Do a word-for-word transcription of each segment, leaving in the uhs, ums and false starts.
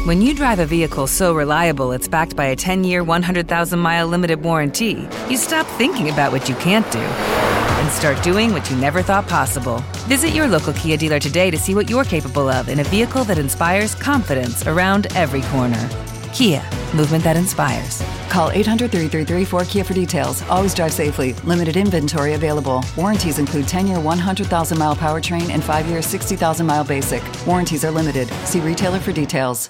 When you drive a vehicle so reliable it's backed by a ten-year, one hundred thousand mile limited warranty, you stop thinking about what you can't do and start doing what you never thought possible. Visit your local Kia dealer today to see what you're capable of in a vehicle that inspires confidence around every corner. Kia, movement that inspires. Call eight hundred, three three three, four K I A for details. Always drive safely. Limited inventory available. Warranties include ten-year, one hundred thousand mile powertrain and five-year, sixty thousand mile basic. Warranties are limited. See retailer for details.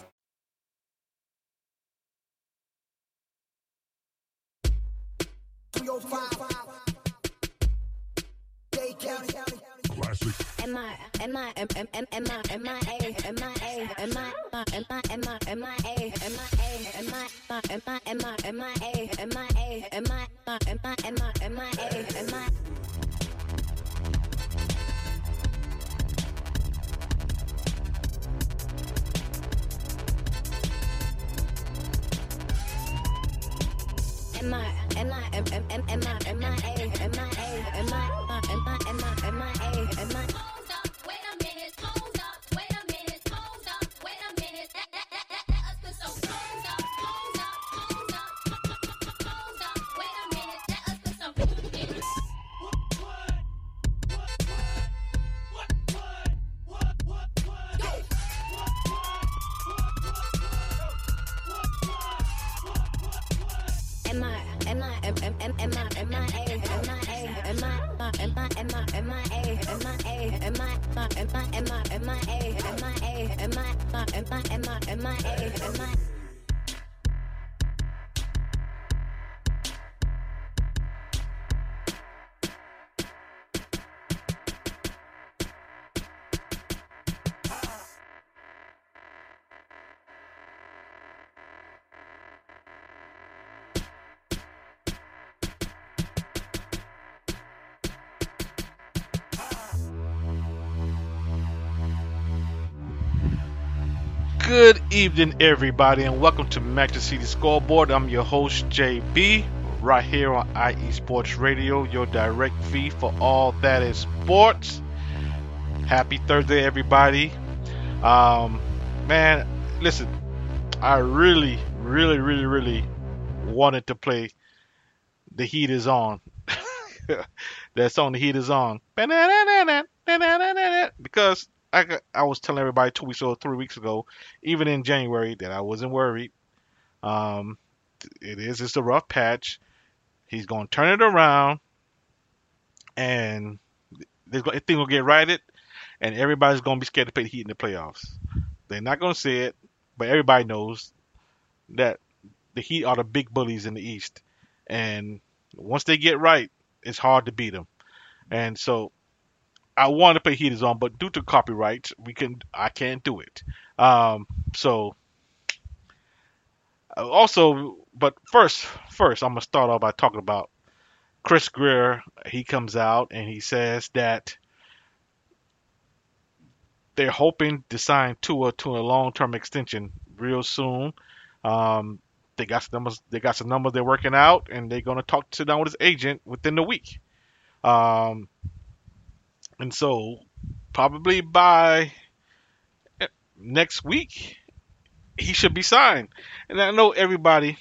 Classic. Am I, am I, am, am, am, am I, am I, A, am I, A, am I, am I, am I, am I, A, am I, A, am I, am I, am I, am I, A, am I, A, am I, am I, am I, am I, A, am I. Am I, am I, am, am, am, am I, am I, A, am I, A, am I, am I, am I, am I, A, am I. Hold up, wait a minute, hold up, wait a minute, hold up, wait a minute. Let, let, let, let, let us put some hold up, hold up, hold up, hold up, wait a minute. Let us put some in it. Am I, am I, am, am, am, am I, am I, A, am I, A, am I, am I, am I, am I, A, am I, A, am I, am I, am I, am I, A, am I, A, am I, am I, am I, am I, A, am I. Good evening, everybody, and welcome to Manchester City Scoreboard. I'm your host, J B, right here on I E Sports Radio, your direct feed for all that is sports. Happy Thursday, everybody. Um, man, listen, I really, really, really, really wanted to play The Heat Is On. That song, The Heat Is On. Because I, I was telling everybody two weeks or three weeks ago, even in January, that I wasn't worried. Um, it is just a rough patch. He's going to turn it around, and things will get righted, and everybody's going to be scared to play the Heat in the playoffs. They're not going to say it, but everybody knows that the Heat are the big bullies in the East, and once they get right, it's hard to beat them. And so I wanted to play Heat Is On, but due to copyrights, we can I can't do it. Um, so also, but first, first I'm gonna start off by talking about Chris Greer. He comes out and he says that they're hoping to sign Tua to a long-term extension real soon. Um, they got some numbers. They got some numbers they're working out, and they're gonna talk sit down with his agent within the week. Um, And so, probably by next week, he should be signed. And I know everybody.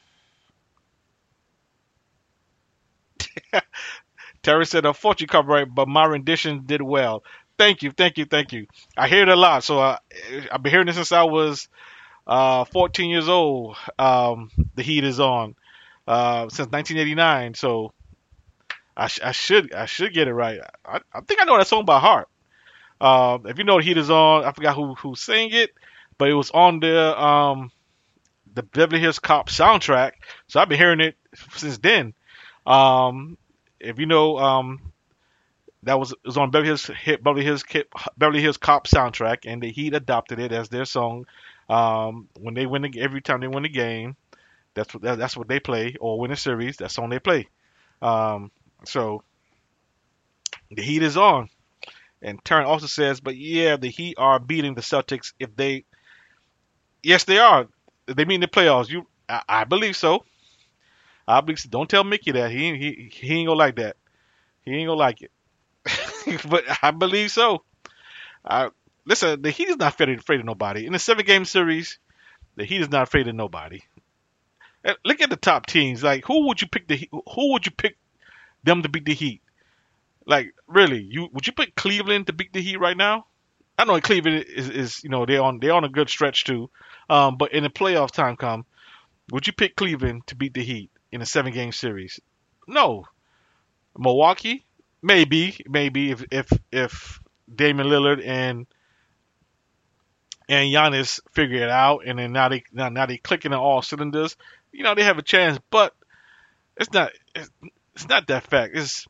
Terry said, unfortunately, copyright, but my rendition did well. Thank you, thank you, thank you. I hear it a lot. So uh, I've been hearing this since I was uh, fourteen years old. Um, the Heat Is On uh, since nineteen eighty-nine. So I, sh- I should I should get it right. I, I think I know that song by heart. Uh, if you know the Heat Is On, I forgot who who sang it, but it was on the um the Beverly Hills Cop soundtrack. So I've been hearing it since then. Um, if you know, um, that was it was on Beverly Hills Beverly Hills Beverly Hills Cop soundtrack, and the Heat adopted it as their song. Um, when they win the, every time they win a game, that's what that's what they play, or win a series. That's the song they play. Um, So, the Heat is on. And Turn also says, but yeah, the Heat are beating the Celtics if they... Yes, they are. If they meet in the playoffs. You, I, I believe so. I believe so. Don't tell Mickey that. He, he, he ain't gonna like that. He ain't gonna like it. But I believe so. I, listen, the Heat is not afraid, afraid of nobody. In the seven-game series, The Heat is not afraid of nobody. And look at the top teams. Like, who would you pick the Heat- who would you pick them to beat the Heat? Like, really, you would you pick Cleveland to beat the Heat right now? I know Cleveland is, is you know they're on they're on a good stretch too, um, but in the playoff time come, would you pick Cleveland to beat the Heat in a seven game series? No. Milwaukee, maybe maybe if if if Damian Lillard and and Giannis figure it out, and then now they now, now they clicking on all cylinders, you know they have a chance, but it's not it's, it's not that fact. It's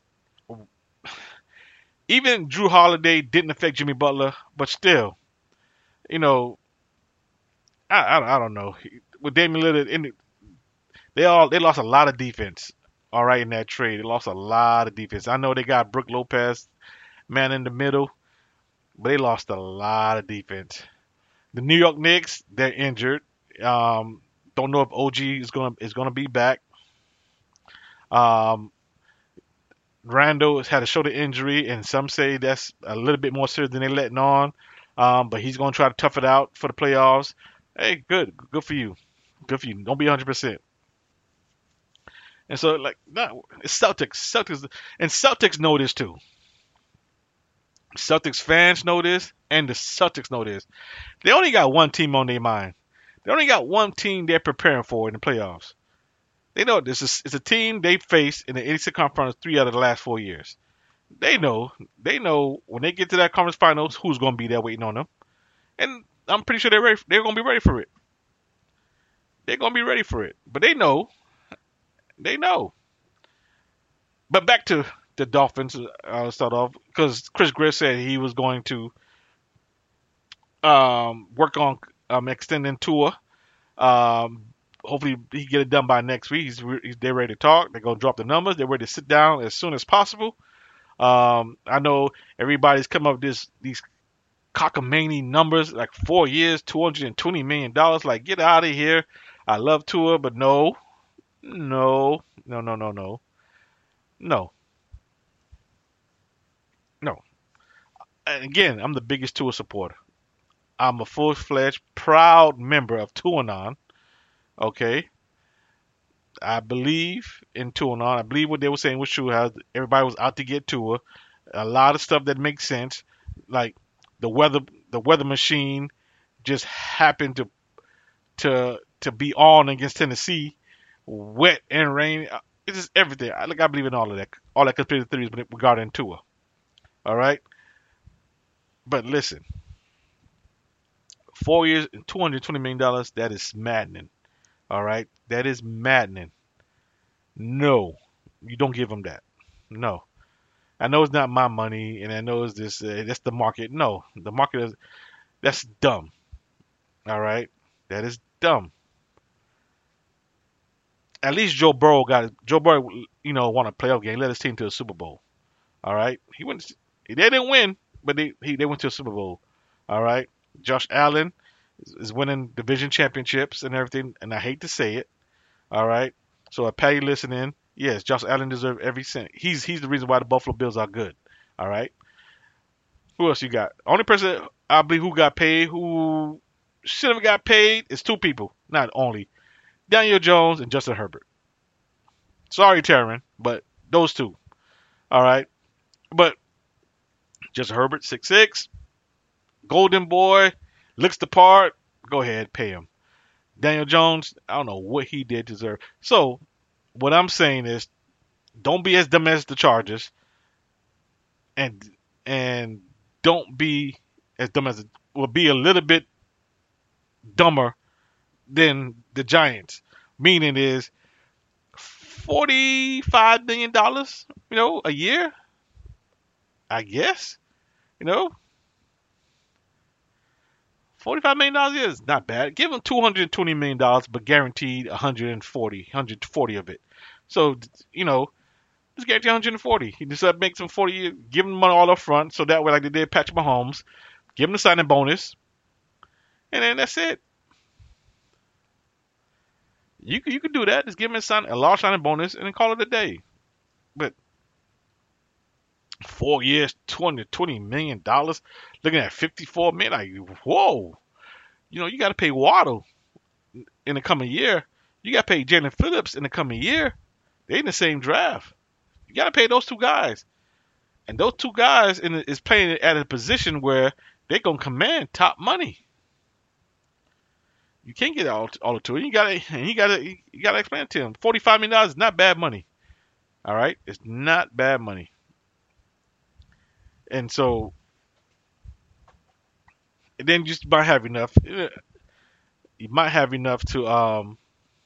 even Drew Holiday didn't affect Jimmy Butler, but still, you know, I I, I don't know. With Damian Lillard, in the, they all they lost a lot of defense. All right, in that trade, they lost a lot of defense. I know they got Brook Lopez, man in the middle, but they lost a lot of defense. The New York Knicks, they're injured. Um, don't know if O G is gonna is gonna be back. Um, Randall has had a shoulder injury, and some say that's a little bit more serious than they're letting on. Um, but he's going to try to tough it out for the playoffs. Hey, good, good for you, good for you. Don't be one hundred percent. And so, like, no, it's Celtics, Celtics, and Celtics know this too. Celtics fans know this, and the Celtics know this. They only got one team on their mind. They only got one team they're preparing for in the playoffs. They know this is it's a team they faced in the eighty-six conference three out of the last four years. They know, they know when they get to that conference finals, who's going to be there waiting on them, and I'm pretty sure they're ready. They're going to be ready for it. They're going to be ready for it, but they know, they know. But back to the Dolphins. I'll start off because Chris Greer said he was going to um, work on um, extending Tua. Um, Hopefully he get it done by next week. He's, he's they're ready to talk. They're gonna drop the numbers. They're ready to sit down as soon as possible. Um, I know everybody's come up with this these cockamamie numbers like four years, two hundred and twenty million dollars. Like get out of here. I love Tua, but no, no, no, no, no, no, no, no. And again, I'm the biggest Tua supporter. I'm a full-fledged, proud member of Tuanon. Okay, I believe in Tua. I believe what they were saying was true. How everybody was out to get Tua. A lot of stuff that makes sense, like the weather, the weather machine, just happened to to to be on against Tennessee, wet and rain. It's just everything. I like I believe in all of that, all that conspiracy theories regarding Tua. All right, but listen, four years and two hundred twenty million dollars. That is maddening. All right, that is maddening. No, you don't give them that. No, I know it's not my money, and I know it's this. Uh, that's the market. No, the market is. That's dumb. All right, that is dumb. At least Joe Burrow got it. Joe Burrow, you know, won a playoff game, led his team to a Super Bowl. All right, he went. They didn't win, but they he, they went to a Super Bowl. All right, Josh Allen is winning division championships and everything, and I hate to say it. All right, so if Patty listening, yes, Josh Allen deserves every cent. He's he's the reason why the Buffalo Bills are good. All right. Who else you got? Only person I believe who got paid, who should have got paid, is two people. Not only Daniel Jones and Justin Herbert. Sorry, Taryn, but those two. All right, but Justin Herbert, six six, Golden Boy, looks the part. Go ahead, pay him. Daniel Jones, I don't know what he did to deserve. So, what I'm saying is, don't be as dumb as the Chargers, and and don't be as dumb as well. Be a little bit dumber than the Giants. Meaning is forty-five million dollars, you know, a year. I guess, you know. forty-five million dollars is not bad. Give them two hundred twenty million dollars, but guaranteed one hundred forty, one hundred forty of it. So, you know, just guarantee one hundred forty. He just uh, make some forty, give them money all up front, so that way, like they did Patrick Mahomes, give them the signing bonus, and then that's it. You can, you can do that. Just give them a, sign, a large signing bonus, and then call it a day. But four years, two hundred twenty million dollars, looking at fifty-four million dollars, like, whoa. You know, you got to pay Waddle. in the coming year. You got to pay Jalen Phillips in the coming year. They in the same draft. You got to pay those two guys. And those two guys in the, is playing at a position where they're going to command top money. You can't get all, all the two. You got to you got to you got to explain it to him. forty-five million dollars is not bad money. All right? It's not bad money. And so and then you just might have enough. You might have enough to um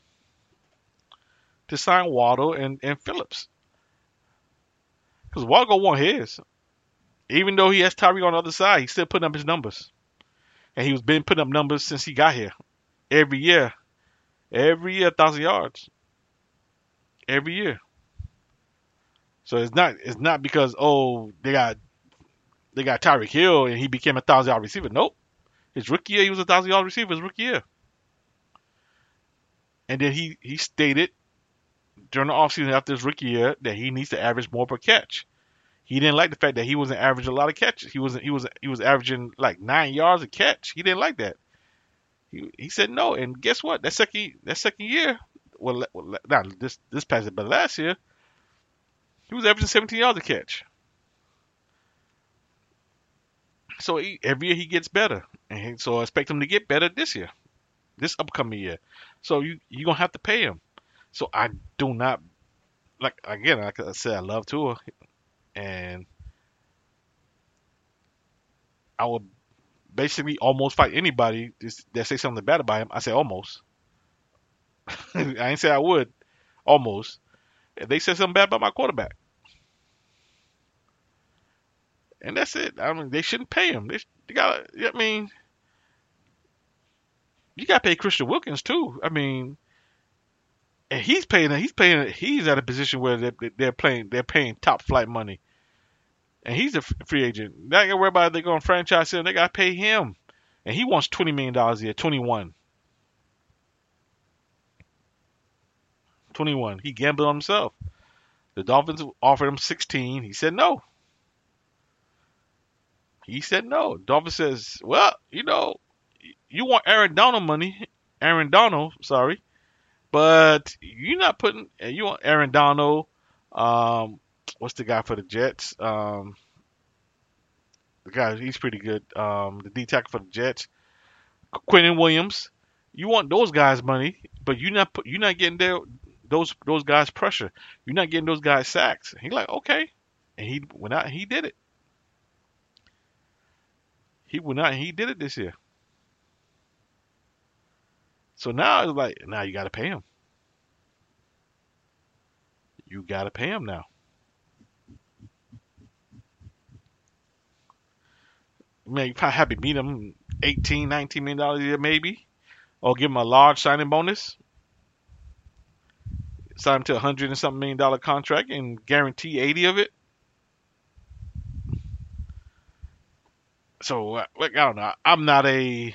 to sign Waddle and, and Phillips. Because Waddle want his. Even though he has Tyreek on the other side, he's still putting up his numbers. And he's been putting up numbers since he got here. Every year. Every year, a thousand yards. Every year. So it's not it's not because, oh, they got they got Tyreek Hill and he became a thousand yard receiver. Nope. His rookie year, he was a thousand yard receiver his rookie year. And then he, he stated during the offseason after his rookie year that he needs to average more per catch. He didn't like the fact that he wasn't averaging a lot of catches. He wasn't he was he was averaging like nine yards a catch. He didn't like that. He he said no, and guess what? That second that second year, well, well not this this past but last year, he was averaging seventeen yards a catch. So he, every year he gets better, and he, so I expect him to get better this year, this upcoming year. So you you gonna have to pay him. So I do not like again. Like I said, I love Tua, and I would basically almost fight anybody that say something bad about him. I say almost. I ain't say I would. Almost. If they said something bad about my quarterback. And that's it. I mean, they shouldn't pay him. They, they got. I mean, you got to pay Christian Wilkins too. I mean, and he's paying. He's paying. He's at a position where they're, they're playing. They're paying top flight money. And he's a free agent. They got to worry about if they're going to franchise him. They got to pay him. And he wants twenty million dollars a year. twenty-one. twenty-one. He gambled on himself. The Dolphins offered him sixteen. He said no. He said no. Dolphins says, well, you know, you want Aaron Donald money. Aaron Donald, sorry. But you're not putting, you want Aaron Donald, um, what's the guy for the Jets? Um, the guy, he's pretty good. Um, the D tackle for the Jets, Quentin Williams. You want those guys' money, but you're not you're not getting their those those guys pressure. You're not getting those guys sacks. He's like, okay, and he went out and he did it. He went out and he did it this year. So now it's like, now you got to pay him. You got to pay him now. Man, you probably have to meet him eighteen, nineteen million dollars a year maybe. Or give him a large signing bonus. Sign him to a hundred and something million dollar contract and guarantee eighty of it. So, like, I don't know. I'm not a,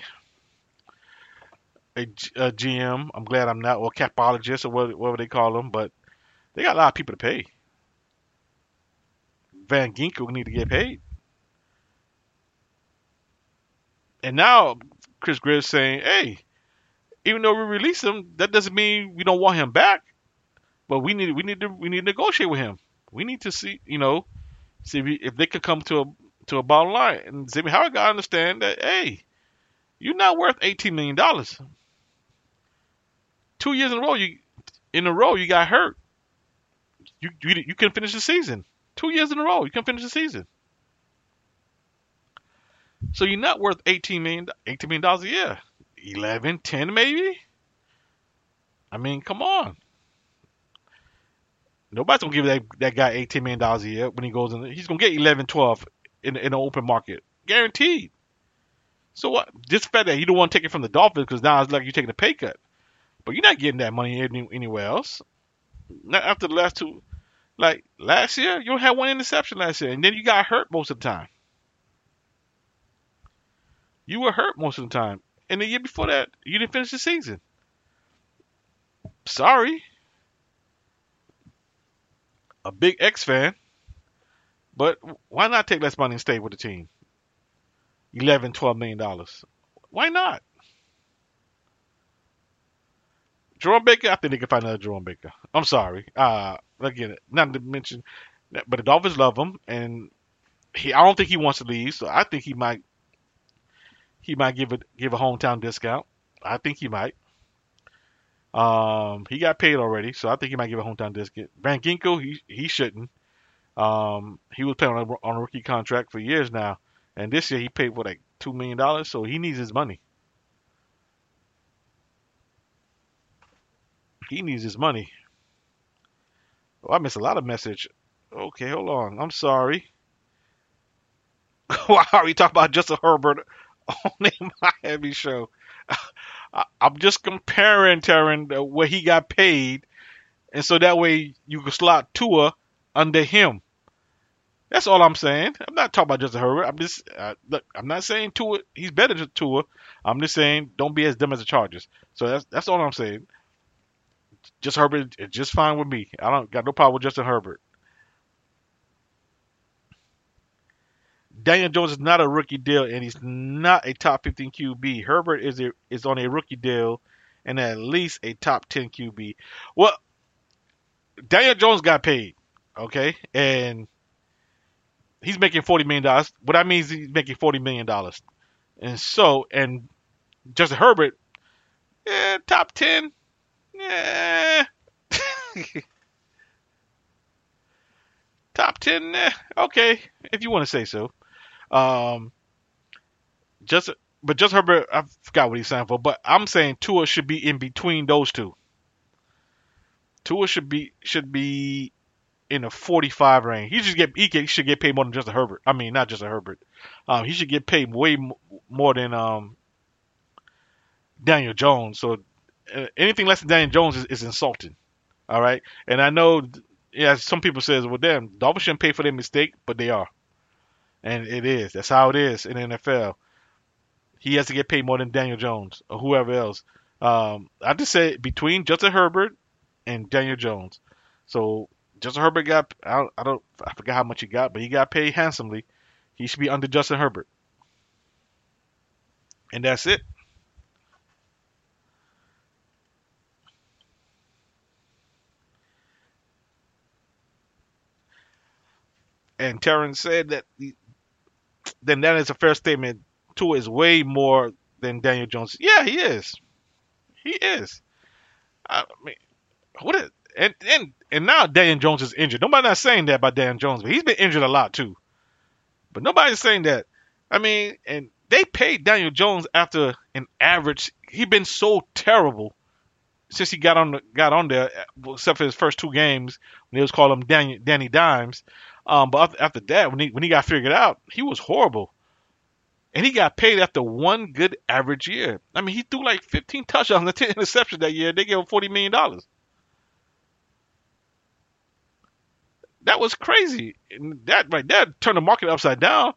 a, a G M. I'm glad I'm not, or capologist, or whatever they call them. But they got a lot of people to pay. Van Ginkel need to get paid. And now Chris Griff's saying, hey, even though we release him, that doesn't mean we don't want him back. But we need we need to we need to negotiate with him. We need to see, you know, see if, we, if they could come to a to a bottom line. And Xavier Howard got to understand that, hey, you're not worth eighteen million dollars. Two years in a row, you in a row you got hurt. You you you couldn't finish the season. Two years in a row, you couldn't finish the season. So you're not worth eighteen million dollars, eighteen million dollars a year. eleven, ten maybe? I mean, come on. Nobody's going to give that, that guy eighteen million dollars a year when he goes in. He's going to get eleven, twelve in, in the open market. Guaranteed. So what? Just the fact that you don't want to take it from the Dolphins because now it's like you're taking a pay cut. But you're not getting that money any, anywhere else. Not after the last two. Like last year, you had one interception last year. And then you got hurt most of the time. You were hurt most of the time. And the year before that, you didn't finish the season. Sorry. A big X fan. But why not take less money and stay with the team? eleven, twelve million dollars. Why not? Jerome Baker, I think they can find another Jerome Baker. I'm sorry. Uh, again, not to mention, but the Dolphins love him, and he. I don't think he wants to leave, so I think he might. He might give it give a hometown discount. I think he might. Um, he got paid already, so I think he might give a hometown discount. Van Ginkel, he he shouldn't. Um, he was playing on a, on a rookie contract for years now, and this year he paid what like two million dollars, so he needs his money. He needs his money. Oh, I missed a lot of message. Okay, hold on. I'm sorry. Why are we talking about Justin Herbert on the Miami show? I, I'm just comparing, Taryn, uh, where he got paid, and so that way you can slot Tua under him. That's all I'm saying. I'm not talking about Justin Herbert. I'm just uh, look. I'm not saying Tua. He's better than Tua. I'm just saying don't be as dumb as the Chargers. So that's that's all I'm saying. Just Herbert is just fine with me. I don't got no problem with Justin Herbert. Daniel Jones is not a rookie deal, and he's not a top fifteen Q B. Herbert is a, is on a rookie deal, and at least a top ten Q B. Well, Daniel Jones got paid, okay, and he's making forty million dollars. What that means, he's making forty million dollars, and so and Justin Herbert, yeah, top ten, yeah, top ten, eh, okay, if you want to say so. Um, just but just Herbert, I forgot what he's saying for, but I'm saying Tua should be in between those two. Tua should be should be in the forty-five range. He should get he, get, he should get paid more than Justin Herbert. I mean, not Justin Herbert. Um, he should get paid way m- more than um Daniel Jones. So uh, anything less than Daniel Jones is, is insulting. All right, and I know, yeah, some people says, well, damn, Dolphins shouldn't pay for their mistake, but they are. And it is. That's how it is in the N F L. He has to get paid more than Daniel Jones or whoever else. Um, I just say between Justin Herbert and Daniel Jones. So Justin Herbert got, I don't, I don't, I forgot how much he got, but he got paid handsomely. He should be under Justin Herbert. And that's it. And Terrence said that the, then that is a fair statement. Tua is way more than Daniel Jones. Yeah, he is. He is. I mean, what is, and and and now Daniel Jones is injured. Nobody's not saying that about Daniel Jones, but he's been injured a lot too. But nobody's saying that. I mean, and they paid Daniel Jones after an average. He's been so terrible since he got on the, got on there, except for his first two games when they was calling him Danny, Danny Dimes. Um, but after that, when he when he got figured out, he was horrible. And he got paid after one good average year. I mean, he threw like fifteen touchdowns and ten interceptions that year. They gave him forty million dollars. That was crazy. And that right there turned the market upside down.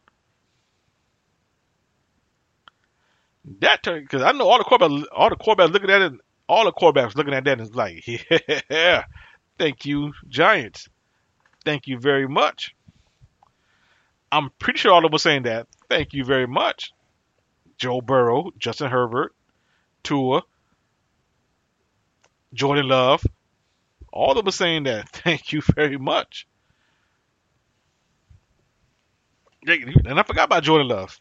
That turned, because I know all the quarterbacks, all the quarterbacks looking at it, all the quarterbacks looking at that and it's like, yeah, thank you, Giants. Thank you very much. I'm pretty sure all of them were saying that. Thank you very much. Joe Burrow, Justin Herbert, Tua, Jordan Love. All of them were saying that. Thank you very much. And I forgot about Jordan Love.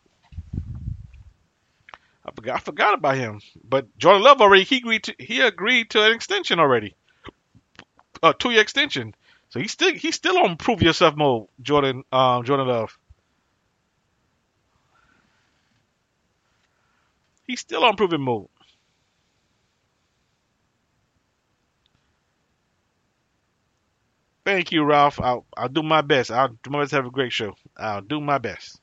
I forgot I forgot about him. But Jordan Love already he agreed to he agreed to an extension already. A two-year extension. So he's still he's still on prove yourself mode, Jordan um, Jordan Love. He's still on proving mode. Thank you, Ralph. I'll I'll do my best. I'll do my best to have a great show. I'll do my best.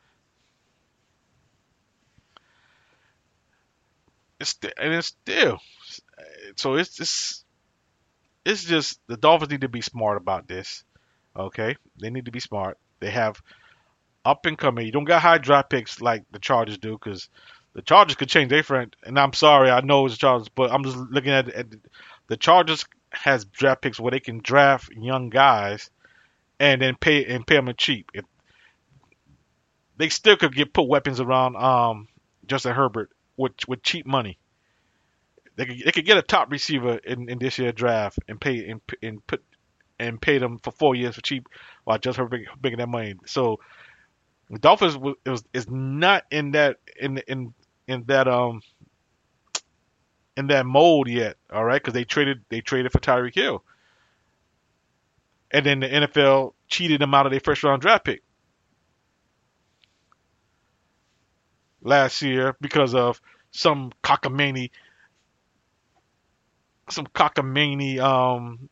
It's st- and it's still so it's just it's just the Dolphins need to be smart about this. Okay, they need to be smart. They have up and coming. You don't got high draft picks like the Chargers do, because the Chargers could change their friend. And I'm sorry, I know it's the Chargers, but I'm just looking at, at the Chargers has draft picks where they can draft young guys and then pay and pay them cheap. If they still could get put weapons around um, Justin Herbert with with cheap money. They could they could get a top receiver in, in this year draft and pay and, and put and pay them for four years for cheap while just her bring- bringing that money. So the Dolphins was, it was is not in that in in in that um in that mold yet. All right, because they traded they traded for Tyreek Hill, and then the N F L cheated them out of their first round draft pick last year because of some cockamamie some cockamamie um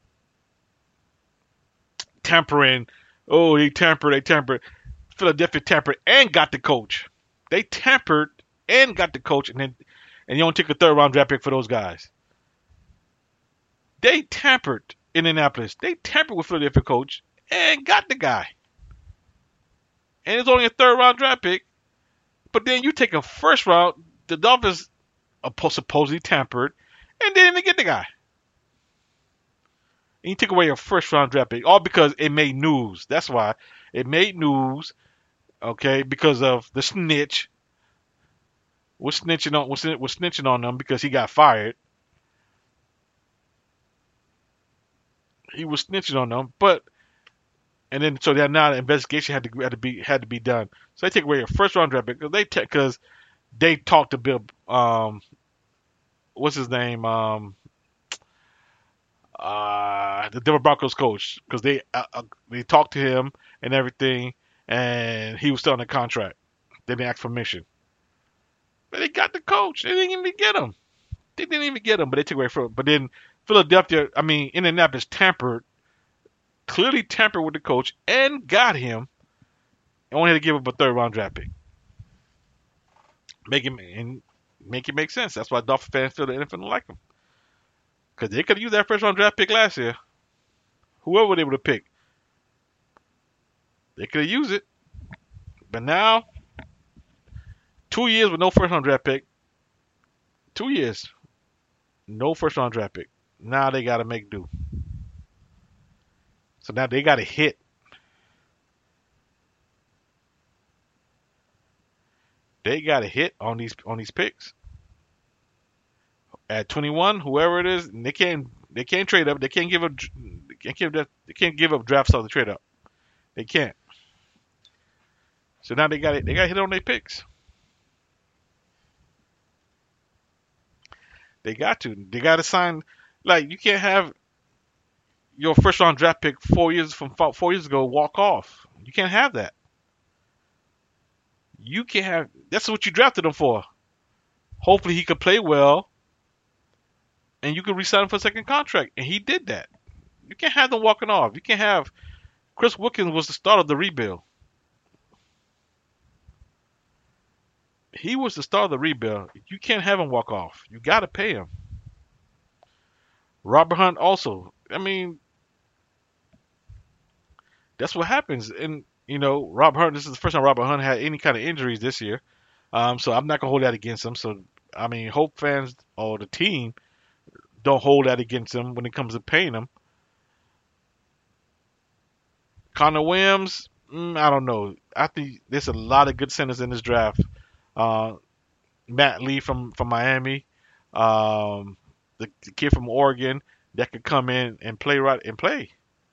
tampering. Oh, they tampered, they tampered. Philadelphia tampered and got the coach. They tampered and got the coach, and then and you only took a third round draft pick for those guys. They tampered in Indianapolis. They tampered with Philadelphia coach and got the guy. And it's only a third round draft pick. But then you take a first round, the Dolphins supposedly tampered, and they didn't even get the guy. And you took away a first round draft pick, all because it made news. That's why it made news, okay, because of the snitch. Was snitching on was, was snitching on them because he got fired. He was snitching on them, but and then so that now the investigation had to had to be had to be done. So they take away a first round draft pick because they because they talked to Bill. Um, what's his name? Um, uh, the Denver Broncos coach, because they uh, uh, they talked to him and everything, and he was still on the contract. They didn't ask for permission, but they got the coach. They didn't even get him. They didn't even get him, but they took away from. But then Philadelphia, I mean Indianapolis, tampered, clearly tampered with the coach and got him, and only had to give up a third round draft pick. Make him and make it make sense. That's why Dolphin fans feel the N F L don't like him. Because they could have used that first round draft pick last year. Whoever they would have picked. They could have used it. But now, two years with no first round draft pick. Two years. No first round draft pick. Now they got to make do. So now they got to hit. They got to hit on these on these picks. At twenty-one, whoever it is, they can't they can't trade up. They can't give up. They can't give that. They can't give up draft stock to trade up. They can't. So now they got it. They got to hit on their picks. They got to. They got to sign. Like you can't have your first round draft pick four years from four years ago walk off. You can't have that. You can't have. That's what you drafted him for. Hopefully he could play well, and you could re-sign him for a second contract. And he did that. You can't have them walking off. You can't have. Chris Wilkins was the start of the rebuild. He was the start of the rebuild. You can't have him walk off. You got to pay him. Robert Hunt also. I mean, that's what happens. And, you know, Robert Hunt, this is the first time Robert Hunt had any kind of injuries this year. Um, so I'm not going to hold that against him. So, I mean, hope fans or the team don't hold that against him when it comes to paying him. Connor Williams, mm, I don't know. I think there's a lot of good centers in this draft. Uh, Matt Lee from, from Miami, um, the, the kid from Oregon that could come in and play right and play.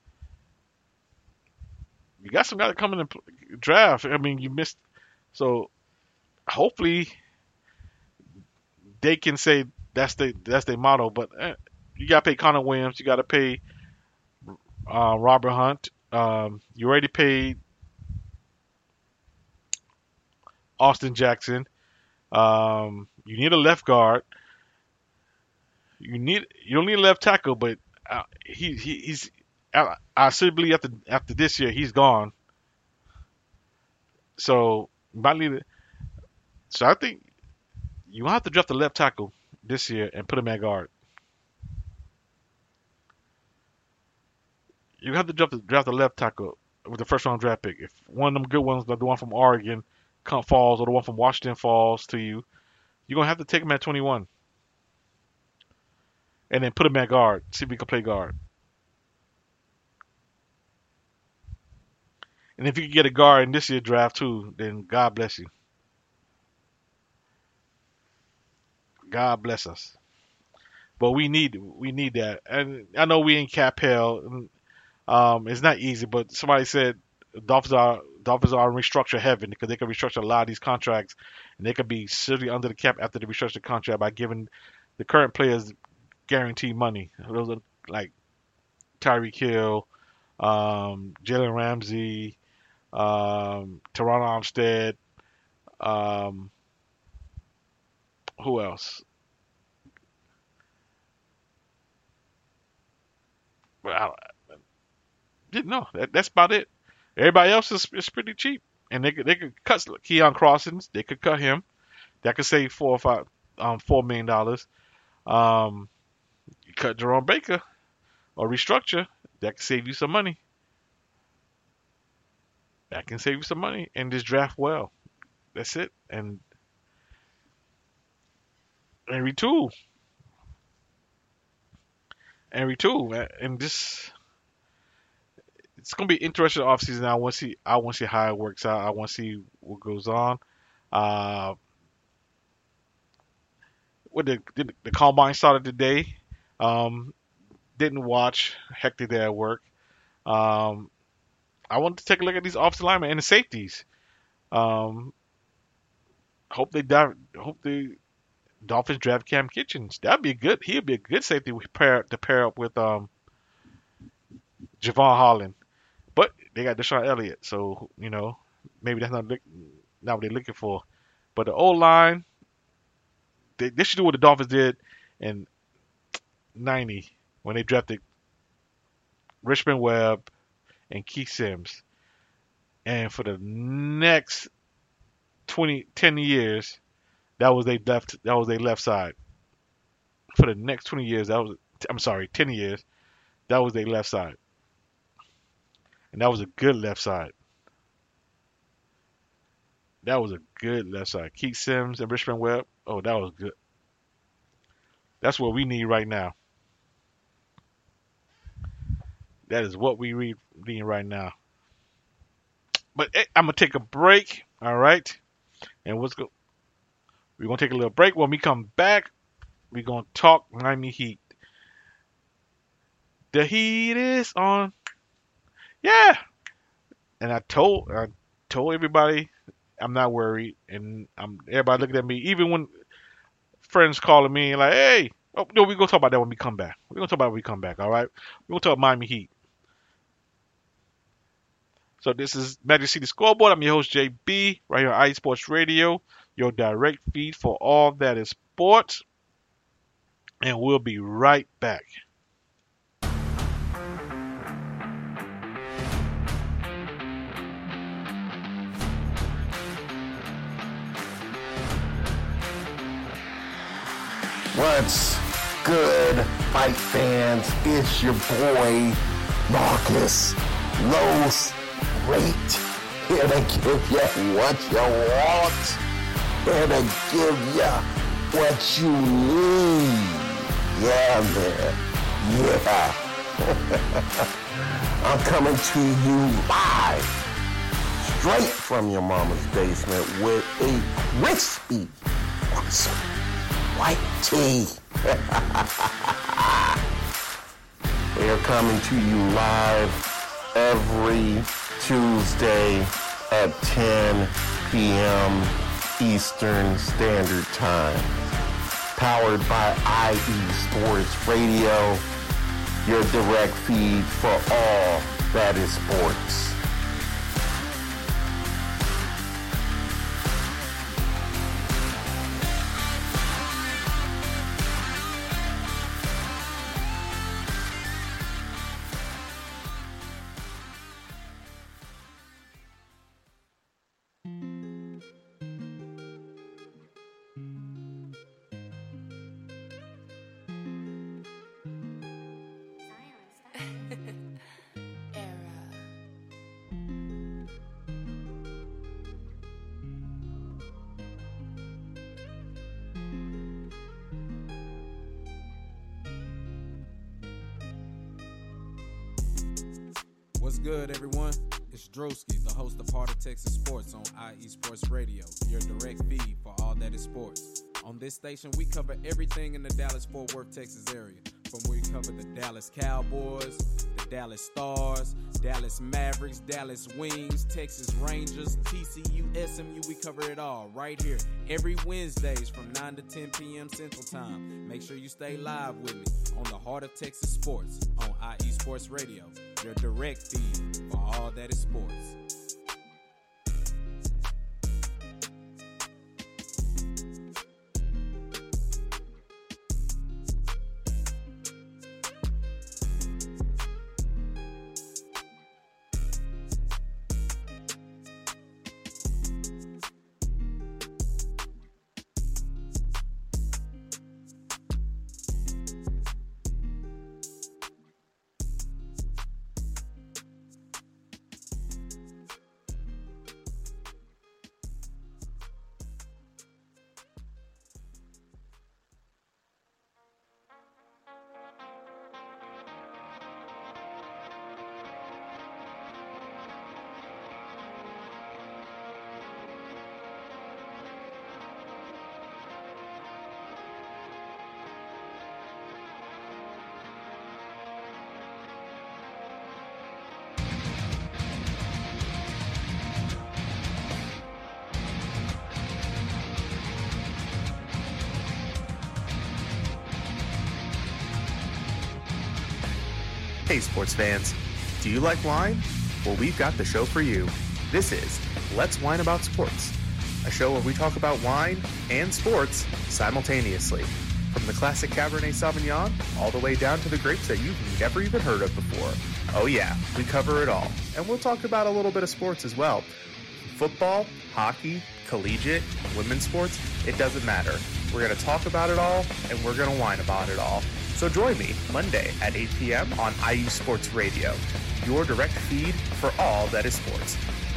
You got some guys that come in and play, draft. I mean, you missed. So hopefully they can say that's the that's their motto. But eh, you got to pay Connor Williams. You got to pay uh, Robert Hunt. Um, you already paid Austin Jackson. Um, you need a left guard. You need you don't need a left tackle, but uh, he, he he's I, I still believe after after this year he's gone. So might need it. So I think you have to draft a left tackle this year and put him at guard. You have to draft the, draft a left tackle with the first round draft pick. If one of them good ones, like the one from Oregon, come falls, or the one from Washington falls to you, you're gonna have to take him at twenty-one, and then put him at guard. See if he can play guard. And if you can get a guard in this year's draft too, then God bless you. God bless us. but we need we need that. And I know we in cap hell. and, Um, it's not easy, but somebody said Dolphins are Dolphins are in restructure heaven because they can restructure a lot of these contracts, and they could be silly under the cap after they restructure the contract by giving the current players guaranteed money. Those are like Tyreek Hill, um, Jalen Ramsey, um, Teron Armstead, um, who else? Well, I, didn't know. That, that's about it. Everybody else is, is pretty cheap, and they could they could cut Keon Crossins. They could cut him. That could save four or five, um, four million dollars. Um, you cut Jerome Baker or restructure. That could save you some money. That can save you some money and just draft well. That's it. And and retool. And retool. And just it's gonna be interesting offseason. I want to see. I want to see how it works out. I want to see what goes on. Uh, what the, the the combine started today. Um, didn't watch. Hectic day at work. Um, I want to take a look at these offensive linemen and the safeties. Um, hope they dive, hope the Dolphins draft Cam Kitchens. That'd be good. He'd be a good safety to pair to pair up with um Javon Holland. But they got Deshaun Elliott, so you know maybe that's not not what they're looking for. But the O line, they, they should do what the Dolphins did in ninety when they drafted Richmond Webb and Keith Sims, and for the next twenty, ten years, that was their left that was their left side. For the next twenty years, that was I'm sorry, ten years, that was their left side. And that was a good left side. That was a good left side. Keith Sims and Richmond Webb. Oh, that was good. That's what we need right now. That is what we need right now. But hey, I'm gonna take a break. All right, and what's go? We're gonna take a little break. When we come back, we're gonna talk Miami Heat. The heat is on. Yeah, and I told I told everybody I'm not worried, and I'm everybody looking at me. Even when friends calling me like, "Hey, oh, no, we're gonna talk about that when we come back. We're gonna talk about it when we come back. All right, we're gonna talk Miami Heat." So this is Magic City Scoreboard. I'm your host J B, right here on iSports Radio, your direct feed for all that is sports, and we'll be right back. What's good, fight fans? It's your boy, Marcus Los Great, here to give you what you want, here to give you what you need. Yeah, man. Yeah. I'm coming to you live, straight from your mama's basement with a crispy, awesome white tea. We are coming to you live every Tuesday at ten p.m. Eastern Standard Time. Powered by I E Sports Radio, your direct feed for all that is sports. What's good, everyone? It's Drewski, the host of Heart of Texas Sports on I E Sports Radio, your direct feed for all that is sports. On this station, we cover everything in the Dallas-Fort Worth, Texas area. From where we cover the Dallas Cowboys, the Dallas Stars, Dallas Mavericks, Dallas Wings, Texas Rangers, T C U, S M U, we cover it all right here every Wednesdays from nine to ten p.m. Central Time. Make sure you stay live with me on the Heart of Texas Sports on I E Sports Radio, your direct feed for all that is sports. Hey sports fans, do you like wine? Well, we've got the show for you. This is Let's Wine About Sports, a show where we talk about wine and sports simultaneously. From the classic Cabernet Sauvignon all the way down to the grapes that you've never even heard of before. Oh yeah, we cover it all. And we'll talk about a little bit of sports as well. Football, hockey, collegiate, women's sports, it doesn't matter. We're going to talk about it all, and we're going to whine about it all. So join me Monday at eight p.m. on I U Sports Radio, your direct feed for all that is sports.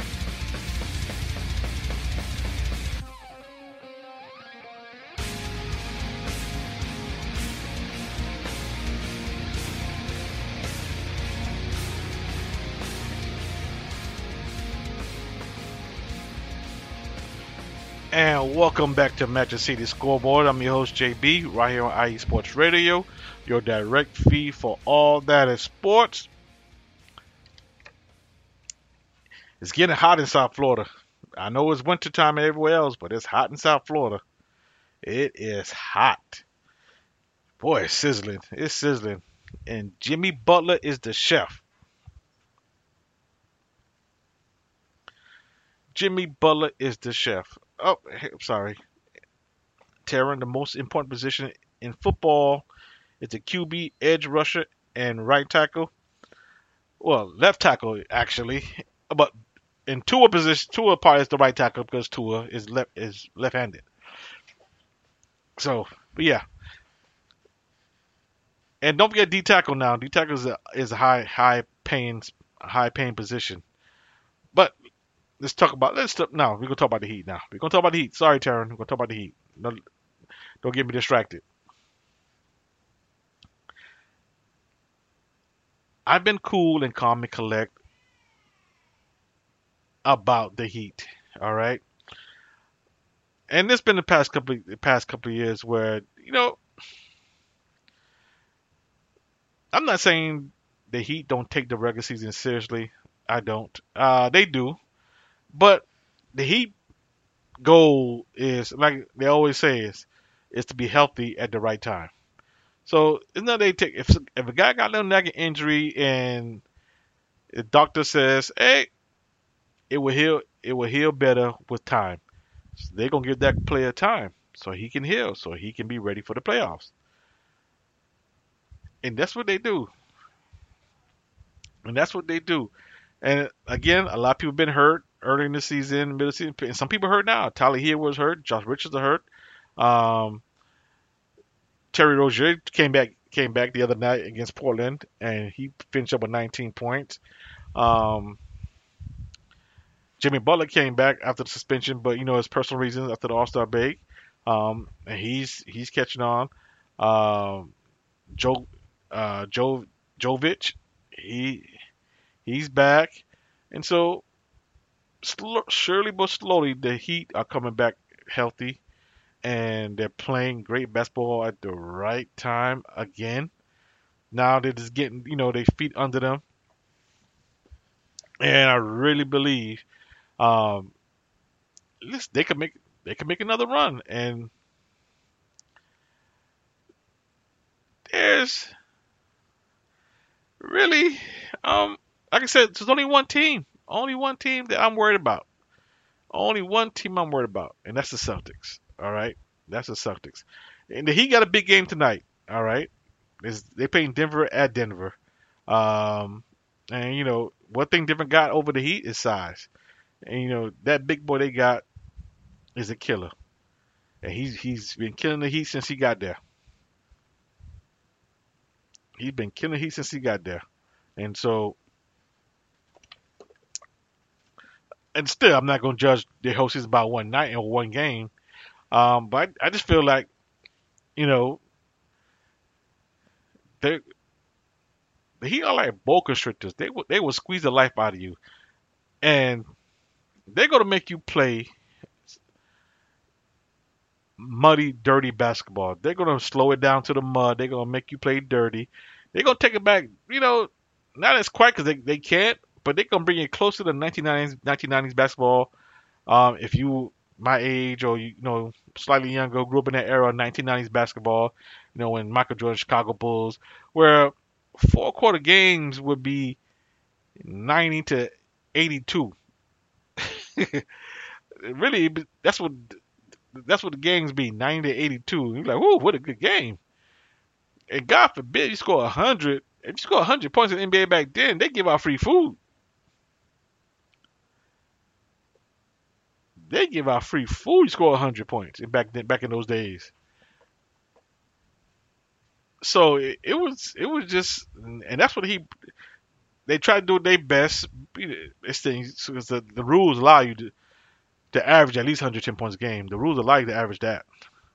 And welcome back to Magic City Scoreboard. I'm your host, J B, right here on I E Sports Radio, your direct feed for all that is sports. It's getting hot in South Florida. I know it's wintertime everywhere else, but it's hot in South Florida. It is hot. Boy, it's sizzling. It's sizzling. And Jimmy Butler is the chef. Jimmy Butler is the chef. Oh, I'm sorry. Taryn, the most important position in football is the Q B, edge rusher, and right tackle. Well, left tackle, actually. But in Tua position, Tua part is the right tackle because Tua is left is left-handed. So, but yeah. And don't forget D tackle now. D tackle is a, is a high high paying high paying position. But let's talk about let's talk, now. We're gonna talk about the Heat now. We're gonna talk about the Heat. Sorry, Taryn. We're gonna talk about the Heat. No, don't get me distracted. I've been cool and calm and collect about the Heat. All right, and it's been the past couple the past couple of years where you know I'm not saying the Heat don't take the regular season seriously. I don't. Uh, they do. But the Heat goal is, like they always say, is, is to be healthy at the right time. So it's not they take if if a guy got a little nagging injury and the doctor says, hey, it will heal it will heal better with time. So they're gonna give that player time so he can heal, so he can be ready for the playoffs. And that's what they do. And that's what they do. And again, a lot of people have been hurt early in the season, middle of the season. And some people hurt now. Tyler Hill was hurt. Josh Richards are hurt. Um, Terry Rozier came back came back the other night against Portland, and he finished up with nineteen points. Um, Jimmy Butler came back after the suspension, but you know his personal reasons after the All-Star break, um, and he's he's catching on. Um, Joe uh, Joe Jovic, he he's back, and so sl- surely but slowly the Heat are coming back healthy. and they're playing great basketball at the right time again. Now they're just getting, you know, their feet under them, and I really believe um, listen, they could make they could make another run. And there's really, um, like I said, there's only one team, only one team that I'm worried about. Only one team I'm worried about, and that's the Celtics. All right, that's the Celtics. And he got a big game tonight. All right, is they playing Denver at Denver. Um, and you know one thing Denver got over the Heat is size. And you know that big boy they got is a killer, and he's he's been killing the Heat since he got there. He's been killing the Heat since he got there, and so and still I'm not gonna judge their whole season by one night or one game. Um, but I, I just feel like you know they the Heat are like boa constrictors. They will they will squeeze the life out of you, and they're gonna make you play muddy, dirty basketball. They're gonna slow it down to the mud. They're gonna make you play dirty. They're gonna take it back. You know, not as quite because they, they can't, but they're gonna bring it closer to nineteen nineties nineteen nineties basketball. Um, if you my age or you know slightly younger, grew up in that era, nineteen nineties basketball. You know when Michael Jordan, Chicago Bulls, where four quarter games would be ninety to eighty-two. Really, that's what that's what the games be, ninety to eighty-two. You're like, whoa, what a good game. And God forbid you score one hundred. If you score one hundred points in the N B A back then, they give out free food. They give out free food. You score one hundred points back then, back in those days. So it, it was, it was just, and that's what he. They try to do their best. It's things because the, the rules allow you to to average at least one hundred ten points a game. The rules allow you to average that.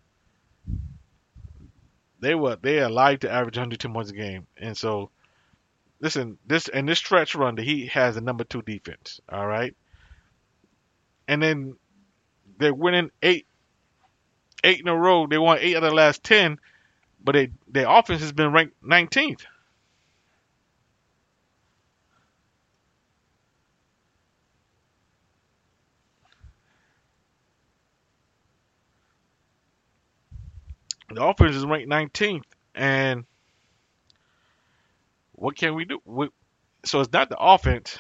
They were they allow you to average one hundred ten points a game, and so listen, this and this stretch run, the Heat has a number two defense. All right, and then they're winning eight eight in a row. They won eight out of the last ten, but they their offense has been ranked nineteenth. The offense is ranked nineteenth, and what can we do? We, so it's not the offense;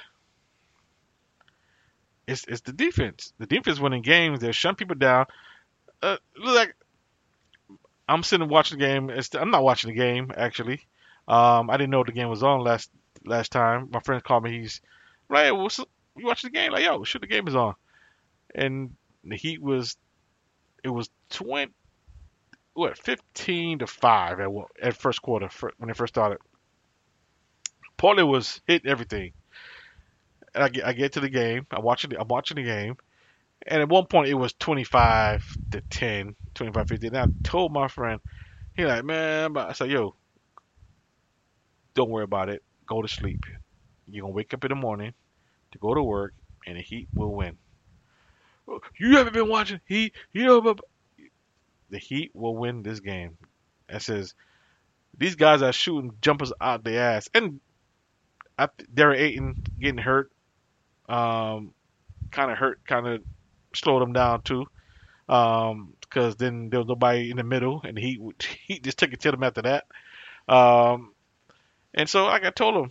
it's it's the defense. The defense winning games. They're shutting people down. Uh, look like I'm sitting watching the game. It's, I'm not watching the game actually. Um, I didn't know the game was on last last time. My friend called me. He's right. What's you watching the game? Like yo, sure the game is on. And the Heat was it was twenty. What fifteen to five at at first quarter when they first started. Portland was hitting everything. And I get I get to the game. I'm watching the, I'm watching the game, and at one point it was twenty-five to ten, twenty-five fifteen. And I told my friend, he like, man, I said, yo, don't worry about it. Go to sleep. You're gonna wake up in the morning to go to work, and the Heat will win. You haven't been watching Heat, you know, but the Heat will win this game. It says these guys are shooting jumpers out their ass, and I, Derek Ayton getting hurt, um, kind of hurt, kind of slowed them down too, um, because then there was nobody in the middle, and the Heat Heat just took it to them after that, um, and so like I told him,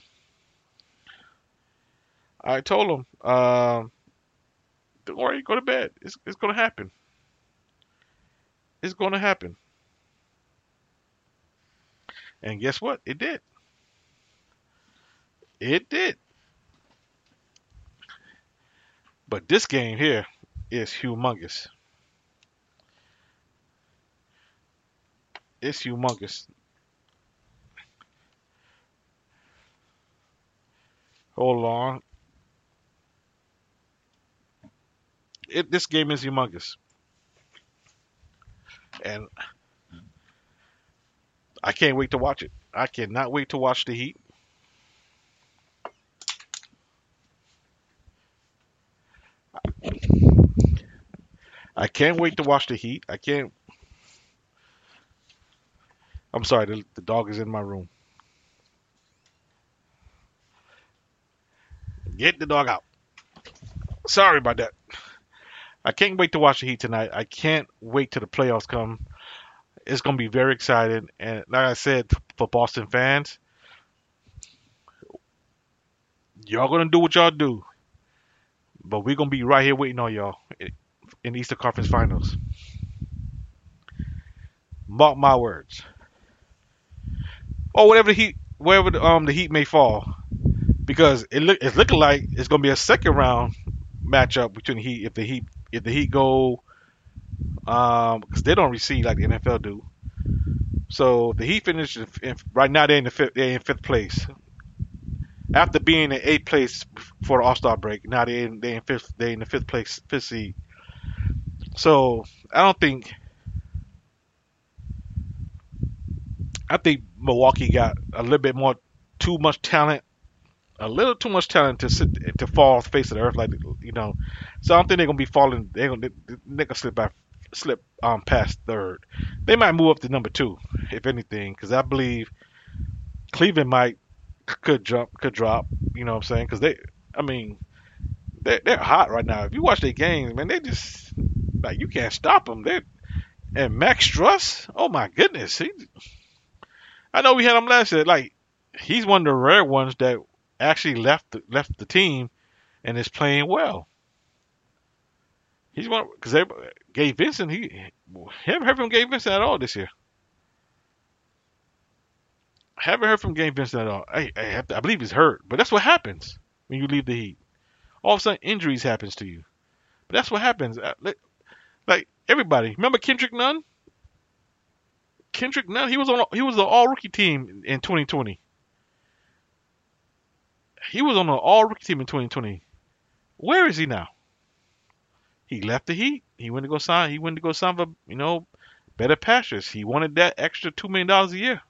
I told him, um, don't worry, go to bed. It's it's gonna happen. It's going to happen. And guess what? It did. It did. But this game here is humongous. It's humongous. Hold on. It, this game is humongous. And I can't wait to watch it. I cannot wait to watch the Heat. I can't wait to watch the Heat. I can't I'm sorry, the, the dog is in my room. Get the dog out. Sorry about that. I can't wait to watch the Heat tonight. I can't wait till the playoffs come. It's going to be very exciting. And like I said, for Boston fans, y'all going to do what y'all do. But we're going to be right here waiting on y'all in the Eastern Conference Finals. Mark my words. Or whatever the Heat, wherever the, um, the Heat may fall. Because it look, it's looking like it's going to be a second round matchup between the Heat. If the Heat, if the Heat go, um, because they don't receive like the N F L do. So the Heat finished in, in, right now. They're in the fifth. They're in fifth place after being in eighth place for the All Star break. Now they're in, they're in fifth. They're in the fifth place, fifth seed. So I don't think. I think Milwaukee got a little bit more, too much talent. A little too much talent to sit to fall off the face of the earth, like you know. So I don't think they're gonna be falling. They're gonna they're gonna slip by, slip um past third. They might move up to number two, if anything, because I believe Cleveland might could jump could drop. You know what I'm saying? Because they, I mean, they they're hot right now. If you watch their games, man, they just like you can't stop them. They and Max Struss, oh my goodness, he. I know we had him last year. Like he's one of the rare ones that actually left the, left the team and is playing well. He's one because Gabe Vincent. He haven't heard from Gabe Vincent at all this year. Haven't heard from Gabe Vincent at all. I, I, have to, I believe he's hurt, but that's what happens when you leave the Heat. All of a sudden, injuries happens to you. But that's what happens. Like everybody, remember Kendrick Nunn? Kendrick Nunn. He was on. He was the All Rookie team in twenty twenty. He was on the all-rookie team in twenty twenty. Where is he now? He left the Heat. He went to go sign. He went to go sign for you know better pastures. He wanted that extra two million dollars a year.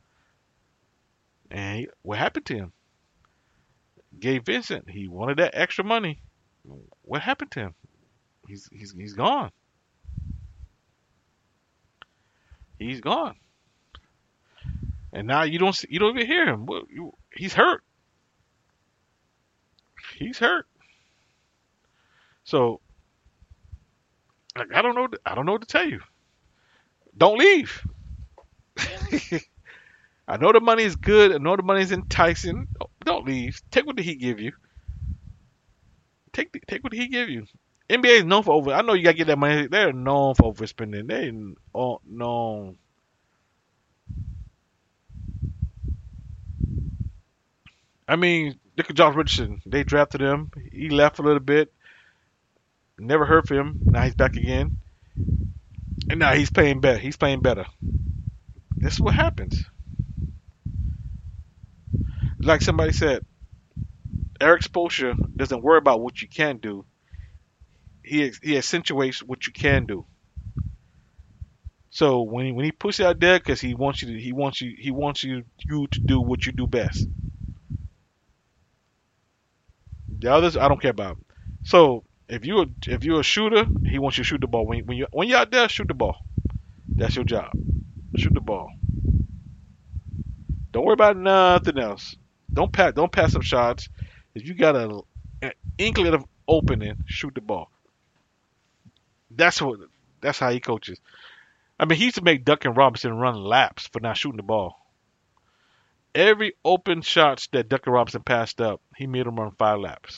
And he, what happened to him? Gabe Vincent. He wanted that extra money. What happened to him? He's he's he's gone. He's gone. And now you don't see, you don't even hear him. He's hurt. He's hurt. So like, I don't know. I don't know what to tell you. Don't leave. I know the money is good. I know the money is enticing. Don't leave. Take what the Heat give you. Take the, take what the Heat give you. N B A is known for over. I know you gotta get that money. They're known for overspending. They're known. I mean, look at Josh Richardson. They drafted him. He left a little bit. Never heard from him. Now he's back again. And now he's playing better. He's playing better. That's what happens. Like somebody said, Eric Spoelstra doesn't worry about what you can do. He he accentuates what you can do. So when he, when he puts you out there, because he wants you to, he wants you he wants you you to do what you do best. The others, I don't care about. So if you if you're a shooter, he wants you to shoot the ball. When when you when you're out there, shoot the ball. That's your job. Shoot the ball. Don't worry about nothing else. Don't pass don't pass up shots. If you got a an inkling of opening, shoot the ball. That's what. That's how he coaches. I mean, he used to make Duncan Robinson run laps for not shooting the ball. Every open shots that Duncan Robinson passed up, he made him run five laps.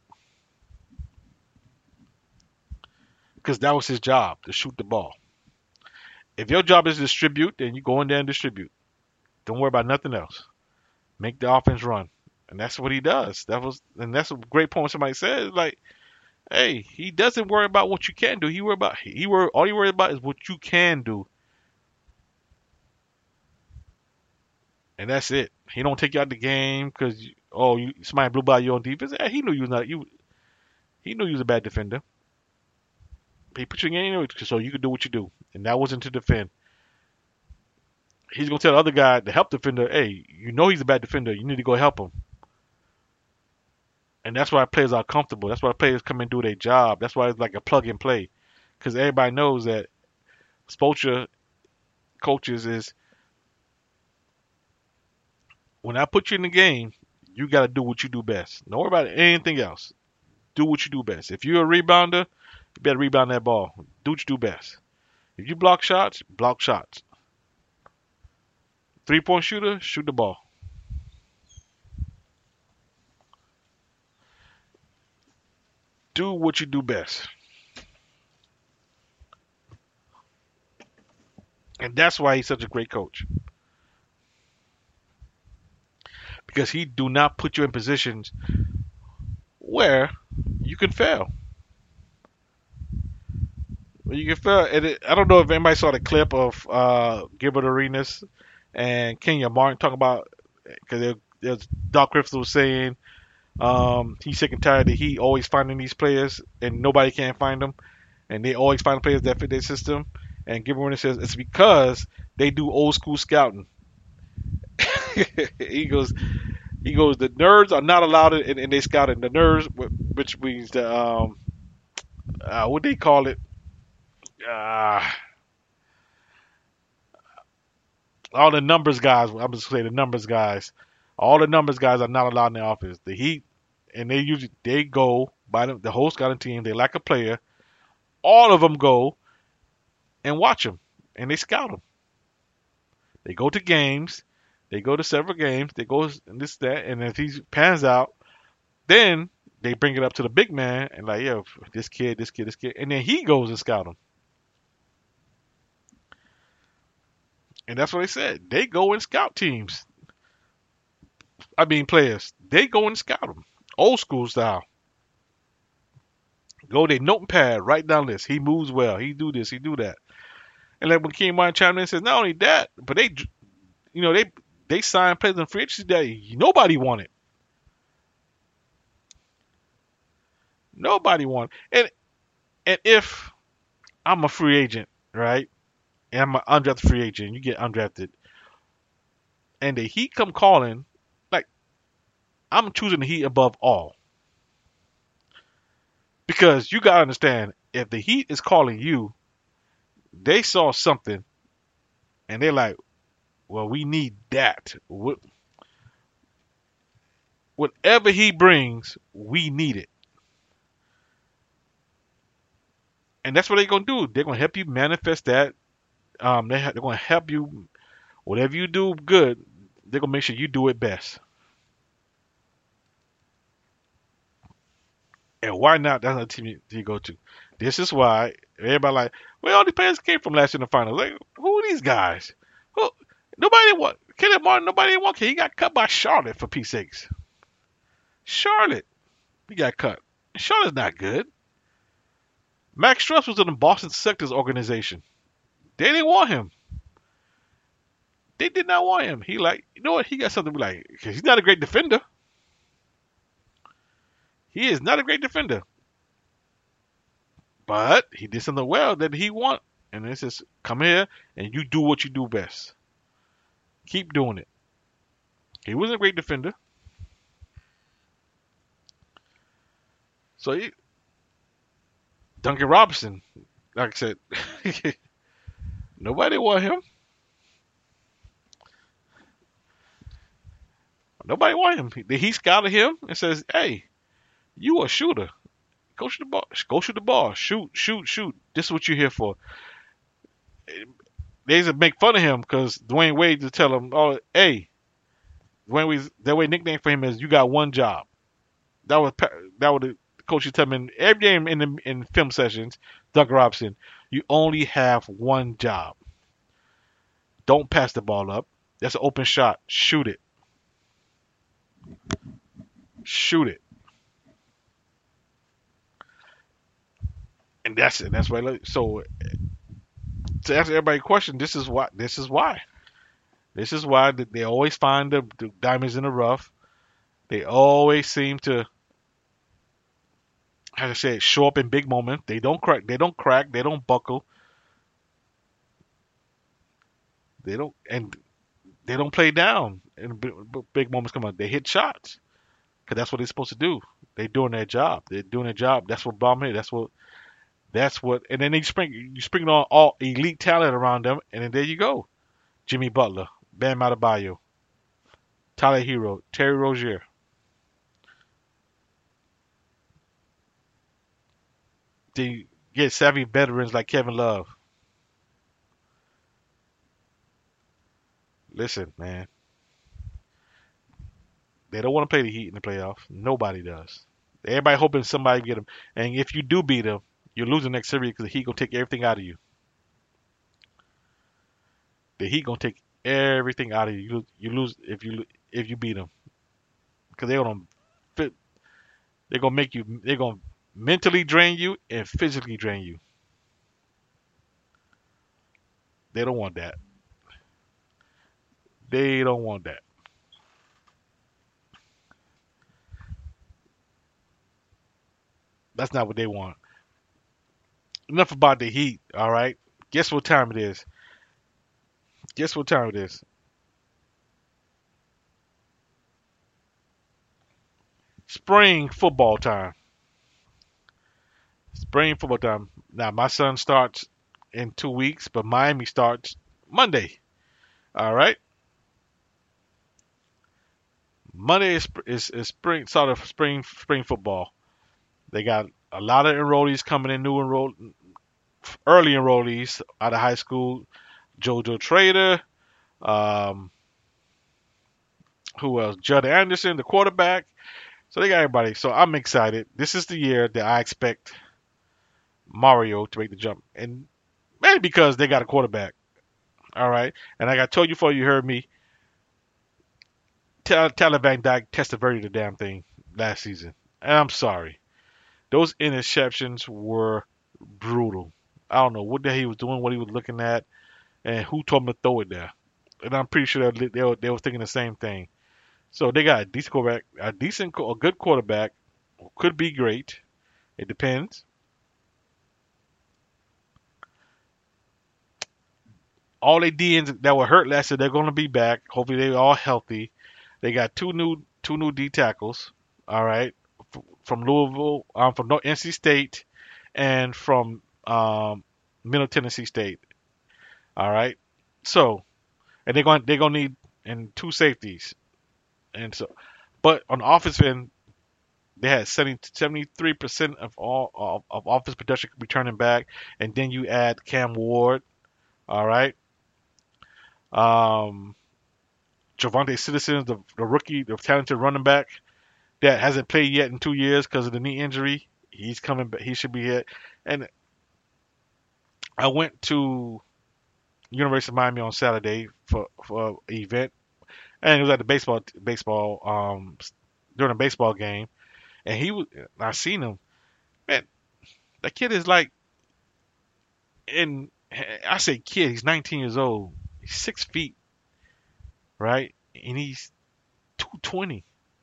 Because that was his job, to shoot the ball. If your job is to distribute, then you go in there and distribute. Don't worry about nothing else. Make the offense run. And that's what he does. That was, and that's a great point somebody said. Like, hey, he doesn't worry about what you can do. He worry about he worry all he worries about is what you can do. And that's it. He don't take you out the game because oh, you, somebody blew by you on defense. Yeah, he knew you was not you. He knew you was a bad defender. He put you in anyway so you could do what you do, and that wasn't to defend. He's gonna tell the other guy, the help defender, hey, you know he's a bad defender. You need to go help him. And that's why players are comfortable. That's why players come and do their job. That's why it's like a plug and play, because everybody knows that Spoelstra coaches is when I put you in the game, you got to do what you do best. Don't worry about anything else. Do what you do best. If you're a rebounder, you better rebound that ball. Do what you do best. If you block shots, block shots. Three-point shooter, shoot the ball. Do what you do best. And that's why he's such a great coach. Because he do not put you in positions where you can fail. Where you can fail. And it, I don't know if anybody saw the clip of uh, Gilbert Arenas and Kenya Martin talking about, because there's Doc Rivers was saying um, he's sick and tired that he always finding these players and nobody can find them, and they always find players that fit their system. And Gilbert Arenas says it's because they do old school scouting. he goes, he goes. The nerds are not allowed in, in they scouting. The nerds, which means the um, uh, what they call it, uh, all the numbers guys. I'm just gonna say the numbers guys. All the numbers guys are not allowed in the office. The Heat, and they usually they go by the, the whole scouting team. They lack a player. All of them go and watch them, and they scout them. They go to games. They go to several games. They go and this, that, and if he pans out, then they bring it up to the big man and like, yo, this kid, this kid, this kid, and then he goes and scout him. And that's what they said. They go and scout teams. I mean, players. They go and scout them, old school style. Go their notepad, write down this. He moves well. He do this. He do that. And like when King Martin chimed in and says, not only that, but they, you know, they they signed players in free agency that nobody wanted. Nobody wanted. And and if I'm a free agent, right, and I'm an undrafted free agent, you get undrafted, and the Heat come calling, like, I'm choosing the Heat above all. Because you got to understand, if the Heat is calling you, they saw something, and they're like, well, we need that. Whatever he brings, we need it. And that's what they're going to do. They're going to help you manifest that. Um, they ha- they're going to help you, whatever you do good, they're going to make sure you do it best. And why not? That's another team you, you go to. This is why everybody like, where all these players came from last year in the finals. Like, who are these guys? Who? Nobody want Caleb Martin. Nobody want. He got cut by Charlotte for Pete's sakes. Charlotte, he got cut. Charlotte's not good. Max Struss was in the Boston Celtics organization. They didn't want him. They did not want him. He like, you know what? He got something to be like, because he's not a great defender. He is not a great defender. But he did something well that he want. And it says, come here and you do what you do best. Keep doing it. He wasn't a great defender. So he, Duncan Robinson, like I said, nobody want him. Nobody want him. He, he scouted him and says, hey, you a shooter. Go shoot the ball. Go shoot the ball. Shoot, shoot, shoot. This is what you're here for. They used to make fun of him because Dwayne Wade to tell him, oh, hey, Dwayne Wade's, that way nickname for him is you got one job. That was that was the coach used to tell him every game in the in film sessions. Doug Robinson, you only have one job. Don't pass the ball up. That's an open shot. Shoot it. Shoot it. And that's it. That's why. So to answer everybody's question, this is why. This is why. This is why they always find the, the diamonds in the rough. They always seem to, how to say it, show up in big moments. They don't crack. They don't crack. They don't buckle. They don't, and they don't play down. And big, big moments come up. They hit shots because that's what they're supposed to do. They're doing their job. They're doing their job. That's what bomb is. That's what. That's what. And then they spring. You spring on all elite talent around them, and then there you go. Jimmy Butler, Bam Adebayo. Tyler Hero, Terry Rozier. They get savvy veterans like Kevin Love. Listen, man, they don't want to play the Heat in the playoffs. Nobody does. Everybody hoping somebody get them. And if you do beat them, you're losing next series because the Heat gonna take everything out of you. The Heat gonna take everything out of you. You, you lose if you if you beat them because they're gonna fit. They're gonna make you. They're gonna mentally drain you and physically drain you. They don't want that. They don't want that. That's not what they want. Enough about the Heat. All right. Guess what time it is? Guess what time it is? Spring football time. Spring football time. Now my son starts in two weeks, but Miami starts Monday. All right. Monday is is, is spring sort of spring spring football. They got a lot of enrollees coming in, new enroll early enrollees out of high school. JoJo Trader, um, who else? Judd Anderson, the quarterback. So they got everybody. So I'm excited. This is the year that I expect Mario to make the jump, and mainly because they got a quarterback. All right, and like I told you before, you heard me. Tyler Van Dyke tested very the damn thing last season, and I'm sorry. Those interceptions were brutal. I don't know what the hell he was doing, what he was looking at, and who told him to throw it there. And I'm pretty sure they they were, they were thinking the same thing. So they got a decent quarterback, a decent, a good quarterback, could be great. It depends. All they D Ns that were hurt last year, they're going to be back. Hopefully they're all healthy. They got two new two new D tackles. All right, from Louisville, um, from N C State, and from um, Middle Tennessee State. All right, so and they're going they're going to need and two safeties, and so, but on the offensive end, they had seventy-three percent of all of, of offense production returning back, and then you add Cam Ward. All right. Um, Javonte Citizens, the, the rookie, the talented running back that hasn't played yet in two years because of the knee injury. He's coming back. He should be here. And I went to University of Miami on Saturday for for an event, and it was at the baseball baseball um during a baseball game, and he was. I seen him. Man, that kid is like, and I say kid. He's nineteen years old. He's six feet, right? And he's two twenty.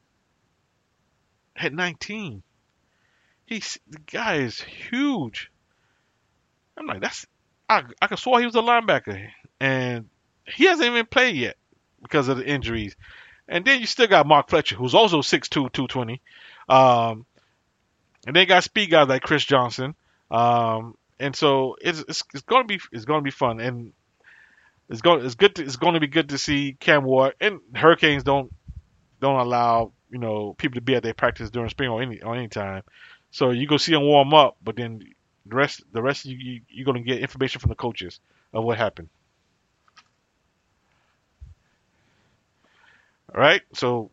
At nineteen, he's the guy is huge. I'm like, that's I I could swear he was a linebacker, and he hasn't even played yet because of the injuries. And then you still got Mark Fletcher, who's also six two, two twenty. Um, and then got speed guys like Chris Johnson. Um, and so it's it's, it's gonna be it's gonna be fun, and it's going it's good to, it's going to be good to see Cam Ward. And Hurricanes don't don't allow you know people to be at their practice during spring or any or any time. So you go see them warm up, but then the rest the rest you, you you're gonna get information from the coaches of what happened. All right, so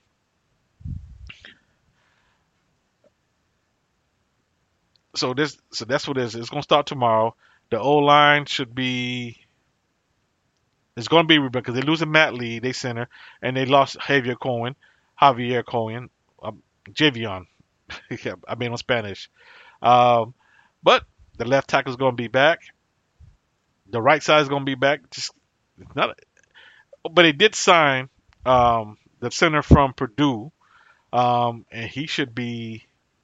so this so that's what it is. It's gonna start tomorrow. The O line should be it's gonna be because they're losing Matt Lee, they center, and they lost Javier Cohen, Javier Cohen, um, Javion. I mean on Spanish. Um, but the left tackle is gonna be back. The right side is gonna be back. Just it's not, but they did sign um, the center from Purdue, um, and he should be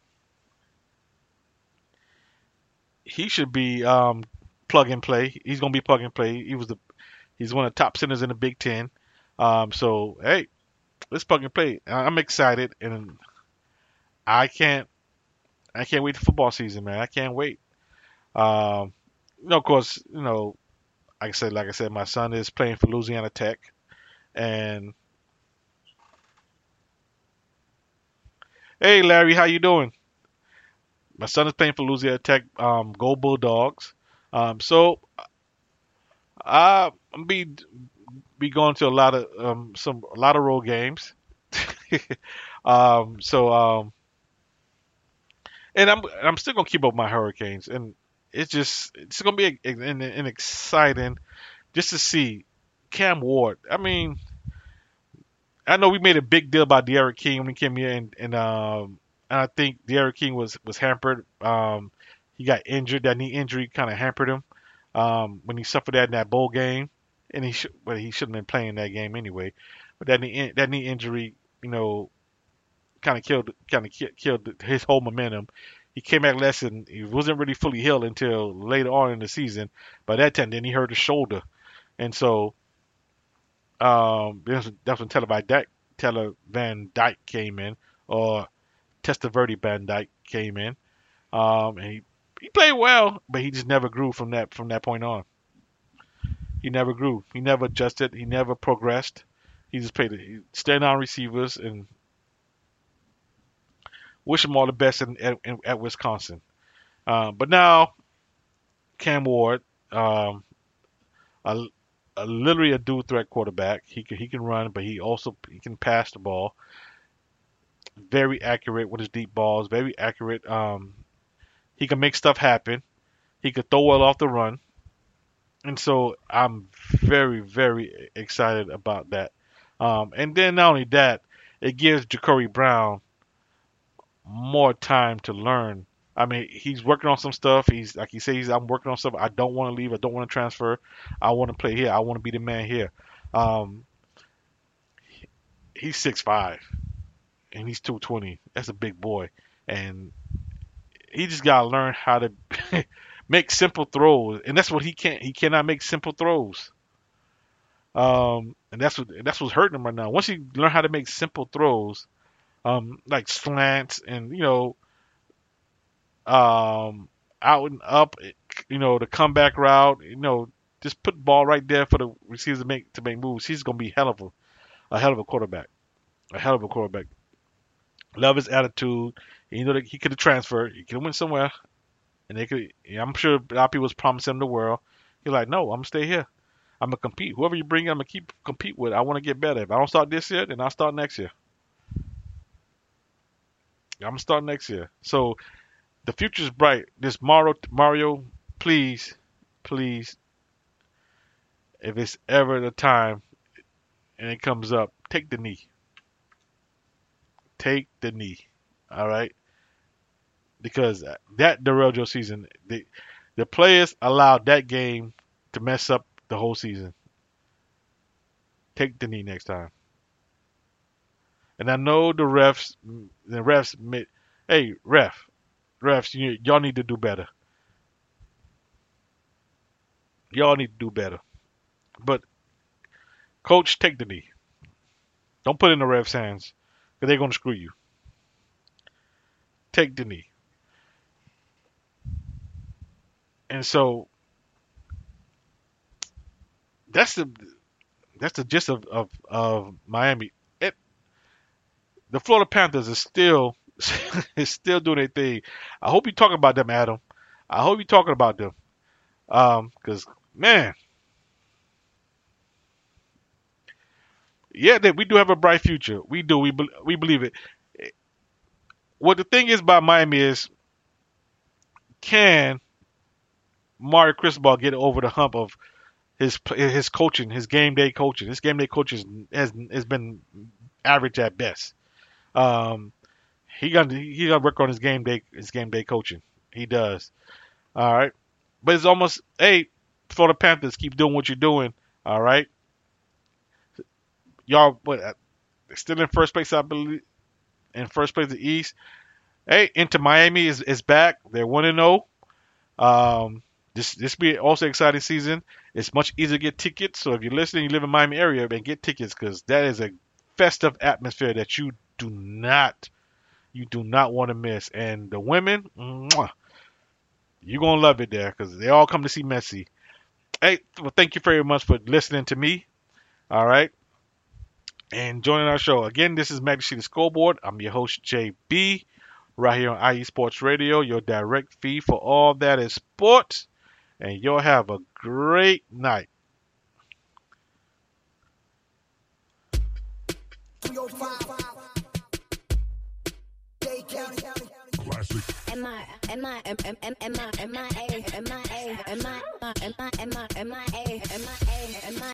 he should be um, plug and play. He's gonna be plug and play. He was the he's one of the top centers in the Big Ten. Um, so hey, let's plug and play. I'm excited, and I can't I can't wait for football season, man. I can't wait. Um, you know, of course, you know, like I said, like I said, my son is playing for Louisiana Tech, and Hey, Larry, how you doing? My son is playing for Louisiana Tech. Um, go Bulldogs. Um, so I am be be going to a lot of um some a lot of road games. um, so um, and I'm I'm still gonna keep up my Hurricanes, and it's just it's gonna be an, an, an exciting just to see Cam Ward. I mean, I know we made a big deal about De'Aaron King when he came here, and and um, and I think De'Aaron King was was hampered. Um, he got injured. That knee injury kind of hampered him um, when he suffered that in that bowl game, and he should, well, he shouldn't have been playing that game anyway. But that knee that knee injury, you know, kind of killed kind of killed his whole momentum. He came back less, and he wasn't really fully healed until later on in the season. By that time, then he hurt his shoulder, and so um, that's that's when Taylor Van Dyke, Taylor Van Dyke came in, or Testaverde Van Dyke came in, um, and he he played well, but he just never grew from that from that point on. He never grew. He never adjusted. He never progressed. He just played. He stayed on receivers, and wish him all the best in, at, in, at Wisconsin. Uh, but now Cam Ward, um, a, a literally a dual threat quarterback. He can he can run, but he also he can pass the ball. Very accurate with his deep balls. Very accurate. Um, he can make stuff happen. He could throw well off the run, and so I'm very very excited about that. Um, and then not only that, it gives Ja'Cory Brown more time to learn. I mean, he's working on some stuff. He's like he says, I'm working on stuff. I don't want to leave. I don't want to transfer. I want to play here. I want to be the man here. Um, he's six five and he's two twenty. That's a big boy, and he just gotta learn how to make simple throws. And that's what he can't. He cannot make simple throws. Um, and that's what that's what's hurting him right now. Once he learn how to make simple throws, um, like slants and you know. Um, out and up, you know, the comeback route, you know, just put the ball right there for the receivers to make to make moves. He's gonna be hell of a, a hell of a quarterback, a hell of a quarterback. Love his attitude. You know that he could have transferred. He could have went somewhere, and they could. I'm sure a lot of people was promising him the world. He's like, no, I'm gonna stay here. I'm gonna compete. Whoever you bring, I'm gonna keep compete with. I want to get better. If I don't start this year, then I'll start next year. I'm gonna start next year. So. The future's bright. This Mario, Mario, please, please, if it's ever the time and it comes up, take the knee. Take the knee. All right? Because that derailed your season. The, the players allowed that game to mess up the whole season. Take the knee next time. And I know the refs, the refs admit, hey, ref, refs, you, y'all need to do better. Y'all need to do better. But, coach, take the knee. Don't put it in the refs' hands, because they're going to screw you. Take the knee. And so, that's the that's the gist of, of, of Miami. It, the Florida Panthers is still is still doing their thing. I hope you're talking about them, Adam. I hope you're talking about them. Um, because man, yeah, they, we do have a bright future. We do. We be, we believe it. What the thing is about Miami is, can Mario Cristobal get over the hump of his his coaching, his game day coaching? His game day coaching has has been average at best. Um. He got he got to work on his game day his game day coaching. He does. All right, but it's almost hey, Florida Panthers, keep doing what you're doing. All right, y'all, but still in first place, I believe. In first place, the East. Hey, Inter Miami is is back. They're one and zero. Um, this this be also exciting season. It's much easier to get tickets. So if you're listening, you live in Miami area, then get tickets because that is a festive atmosphere that you do not. You do not want to miss. And the women, mwah, you're going to love it there because they all come to see Messi. Hey, well, thank you very much for listening to me. All right. and joining our show. Again, this is Magic City Scoreboard. I'm your host, J B, right here on I E Sports Radio, your direct feed for all that is sports. And you'll have a great night. M I M I M M M M I M I A M I A M I M I M I M I A M I A M I